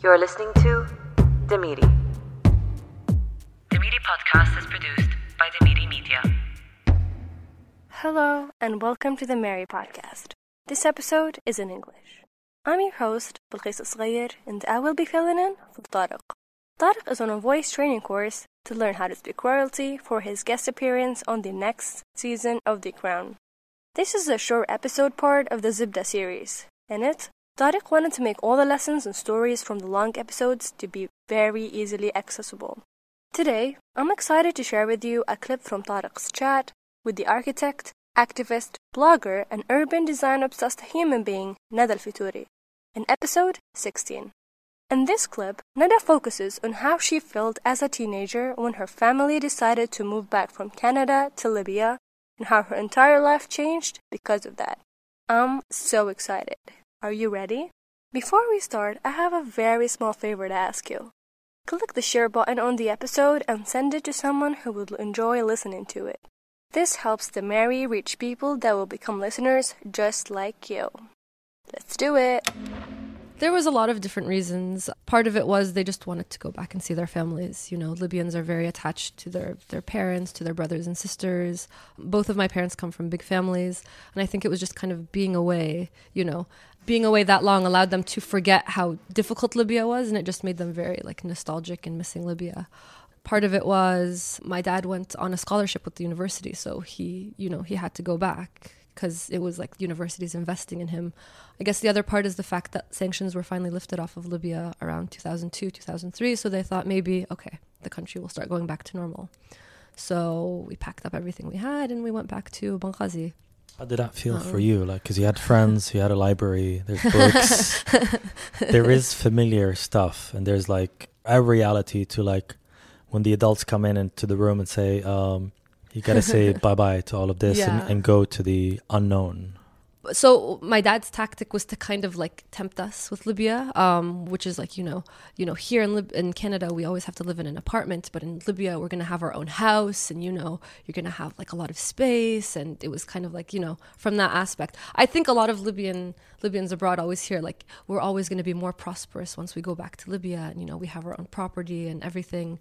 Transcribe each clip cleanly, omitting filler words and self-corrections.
You're listening to Demiri. Demiri podcast is produced by Demiri Media. Hello and welcome to the Mary podcast. This episode is in English. I'm your host, Bilqis Asghayr, and I will be filling in for Tariq. Tariq is on a voice training course to learn how to speak royalty for his guest appearance on the next season of The Crown. This is a short episode part of the Zibda series. In it, Tariq wanted to make all the lessons and stories from the long episodes to be very easily accessible. Today, I'm excited to share with you a clip from Tariq's chat with the architect, activist, blogger, and urban design-obsessed human being Nada Al-Fitouri in episode 16. In this clip, Nada focuses on how she felt as a teenager when her family decided to move back from Canada to Libya and how her entire life changed because of that. I'm so excited. Are you ready? Before we start, I have a very small favor to ask you. Click the share button on the episode and send it to someone who will enjoy listening to it. This helps the Mary reach people that will become listeners just like you. Let's do it! There was a lot of different reasons. Part of it was they just wanted to go back and see their families. You know, Libyans are very attached to their parents, to their brothers and sisters. Both of my parents come from big families. And I think it was just kind of being away, being away that long allowed them to forget how difficult Libya was. And it just made them very nostalgic and missing Libya. Part of it was my dad went on a scholarship with the university. So he had to go back because it was universities investing in him. I guess the other part is the fact that sanctions were finally lifted off of Libya around 2002, 2003. So they thought maybe, okay, the country will start going back to normal. So we packed up everything we had and we went back to Benghazi. How did that feel for you? Because you had friends, you had a library, there's books. There is familiar stuff and there's a reality to when the adults come into the room and say, you got to say bye-bye to all of this and go to the unknown. So my dad's tactic was to kind of tempt us with Libya, which is here in Canada, we always have to live in an apartment. But in Libya, we're going to have our own house and, you're going to have a lot of space. And it was kind of from that aspect. I think a lot of Libyans abroad always hear we're always going to be more prosperous once we go back to Libya. And, we have our own property and everything.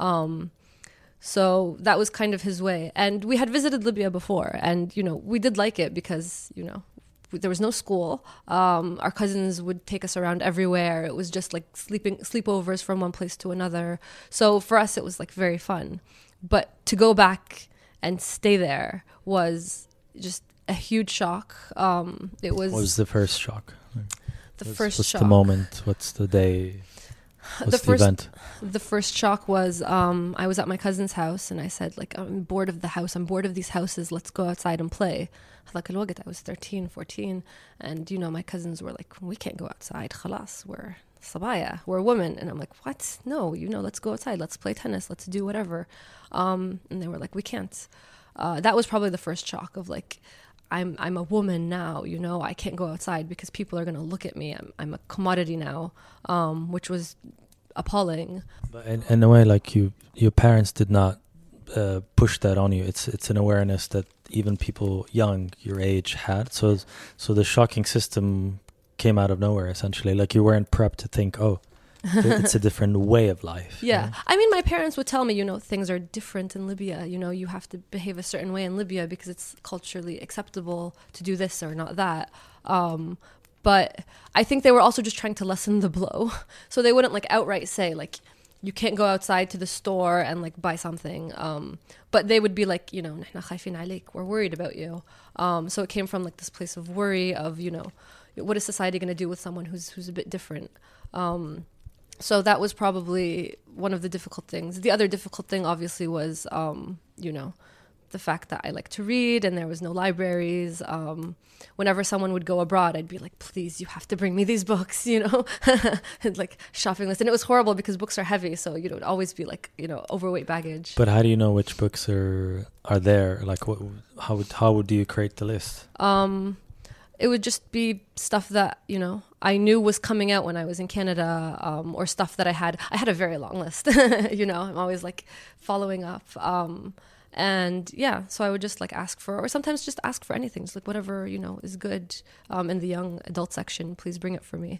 So that was kind of his way. And we had visited Libya before and, we did like it because, there was no school. Our cousins would take us around everywhere. It was just sleepovers from one place to another. So for us, it was very fun. But to go back and stay there was just a huge shock. What was the first shock? What's the moment? What's the day? What's the event? The first shock was I was at my cousin's house and I said, I'm bored of the house. I'm bored of these houses. Let's go outside and play. I was 13, 14. And, my cousins were we can't go outside. Khalas, we're sabaya. We're women. And I'm what? No, let's go outside. Let's play tennis. Let's do whatever. And they were we can't. That was probably the first shock of I'm a woman now, I can't go outside because people are going to look at me. I'm a commodity now, which was appalling. But in a way, your parents did not push that on you. It's an awareness that even people young, your age, had. So the shocking system came out of nowhere, essentially. You weren't prepped to think, it's a different way of life. Yeah. I mean, my parents would tell me, things are different in Libya. You have to behave a certain way in Libya because it's culturally acceptable to do this or not that. But I think they were also just trying to lessen the blow. So they wouldn't outright say you can't go outside to the store and buy something. But they would be نحن خايفين عليك. We're worried about you. So it came from this place of worry of, what is society going to do with someone who's a bit different? So that was probably one of the difficult things. The other difficult thing, obviously, was, the fact that I like to read and there was no libraries. Whenever someone would go abroad, I'd be please, you have to bring me these books, and shopping list. And it was horrible because books are heavy. So, it would always be overweight baggage. But how do you know which books are there? How would you create the list? It would just be stuff that, I knew was coming out when I was in Canada, or stuff that I had a very long list, I'm always following up. And yeah, so I would just like ask for, or sometimes just ask for anything. It's like whatever, you know, is good in the young adult section, please bring it for me.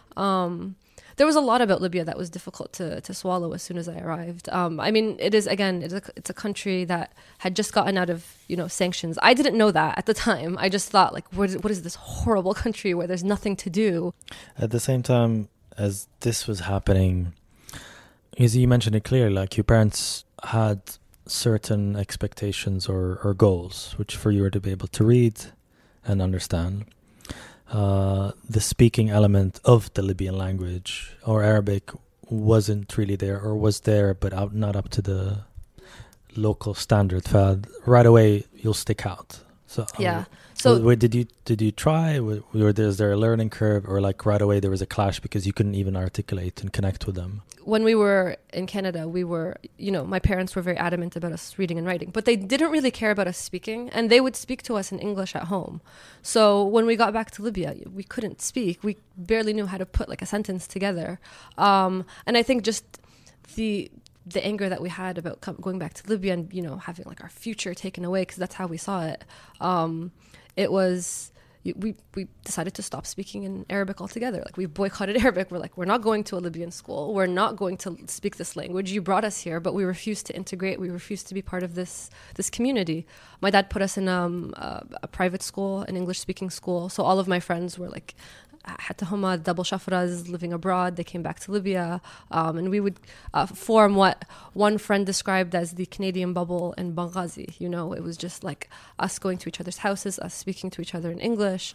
There was a lot about Libya that was difficult to swallow as soon as I arrived. I mean, it is, again, it's a country that had just gotten out of, you know, sanctions. I didn't know that at the time. I just thought, like, what is this horrible country where there's nothing to do? At the same time as this was happening, as you mentioned it clearly, like your parents had certain expectations or goals, which for you were to be able to read and understand. The speaking element of the Libyan language or Arabic wasn't really there, or was there but not up to the local standard. Right away you'll stick out. So yeah. So did you try? Is there a learning curve, or like right away there was a clash because you couldn't even articulate and connect with them? When we were in Canada, we were, you know, my parents were very adamant about us reading and writing, but they didn't really care about us speaking, and they would speak to us in English at home. So when we got back to Libya, we couldn't speak. We barely knew how to put like a sentence together. And I think just the anger that we had about going back to Libya and, you know, having like our future taken away, because that's how we saw it. It was, we decided to stop speaking in Arabic altogether. Like, we boycotted Arabic. We're like, we're not going to a Libyan school. We're not going to speak this language. You brought us here, but we refused to integrate. We refused to be part of this community. My dad put us in a private school, an English-speaking school. So all of my friends were like, حتى هما double shafras living abroad. They came back to Libya, and we would form what one friend described as the Canadian bubble in Benghazi. You know, it was just like us going to each other's houses, us speaking to each other in English.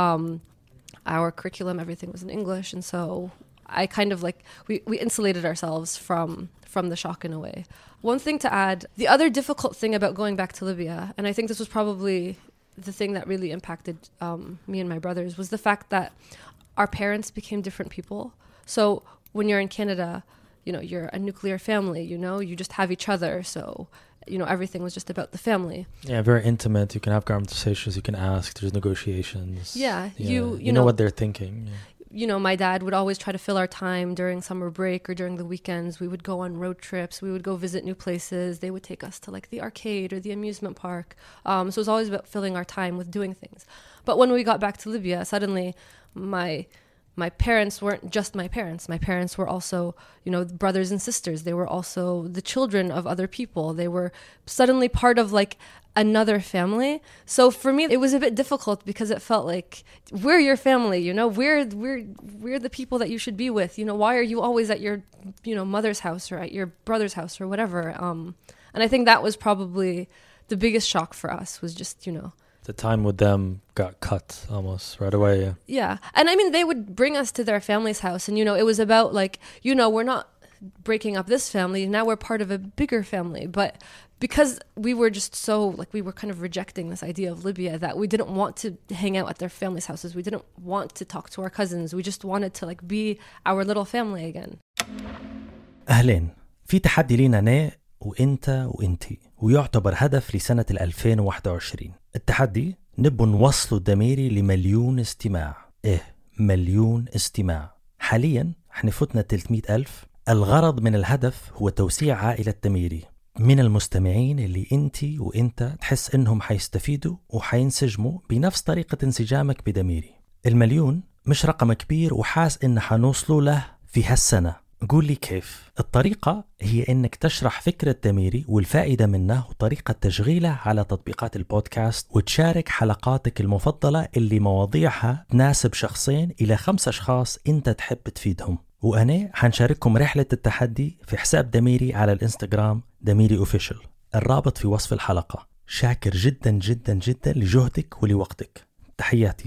Our curriculum, everything was in English, and so I kind of like we insulated ourselves from the shock in a way. One thing to add, the other difficult thing about going back to Libya, and I think this was probably the thing that really impacted me and my brothers, was the fact that our parents became different people. So when you're in Canada, you know, you're a nuclear family, you know, you just have each other. So, you know, everything was just about the family. Yeah, very intimate. You can have conversations, you can ask, there's negotiations. Yeah. You know what they're thinking. Yeah. You know, my dad would always try to fill our time during summer break or during the weekends. We would go on road trips. We would go visit new places. They would take us to like the arcade or the amusement park. So it was always about filling our time with doing things. But when we got back to Libya, suddenly my parents weren't just my parents. My parents were also, you know, brothers and sisters. They were also the children of other people. They were suddenly part of like another family. So for me, it was a bit difficult because it felt like we're your family, you know, we're the people that you should be with. You know, why are you always at your, you know, mother's house or at your brother's house or whatever? And I think that was probably the biggest shock for us, was just, you know, the time with them got cut almost right away. Yeah. Yeah. And I mean, they would bring us to their family's house, and, you know, it was about like, you know, we're not breaking up this family. Now we're part of a bigger family. But because we were just so, like, we were kind of rejecting this idea of Libya, that we didn't want to hang out at their family's houses. We didn't want to talk to our cousins. We just wanted to like be our little family again. أهلين. في تحدي لينا أنا وإنت وإنتي، ويعتبر هدف لسنة 2021. التحدي نبو نوصلوا الدميري ل1,000,000 استماع. مليون استماع. حاليا احنا فتنا 300,000. الغرض من الهدف هو توسيع عائلة دميري من المستمعين اللي انتي وانت تحس انهم حيستفيدوا وحينسجموا بنفس طريقة انسجامك بدميري. 1,000,000 مش رقم كبير وحاس ان حنوصلوا له في هالسنة. قول لي كيف؟ الطريقة هي انك تشرح فكرة دميري والفائدة منه وطريقة تشغيله على تطبيقات البودكاست، وتشارك حلقاتك المفضلة اللي مواضيعها تناسب شخصين إلى 5 أشخاص انت تحب تفيدهم. وأنا حنشارككم رحلة التحدي في حساب دميري على الانستغرام دميري اوفيشل. الرابط في وصف الحلقة. شاكر جدا جدا جدا لجهدك ولوقتك. تحياتي.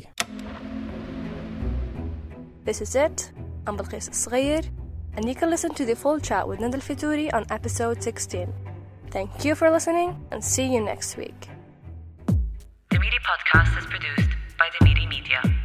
This is it. I'm Balqis Al-Saghir, and you can listen to the full chat with Nada Al-Fitouri on episode 16. Thank you for listening, and see you next week. The Midi Podcast is produced by the Midi Media.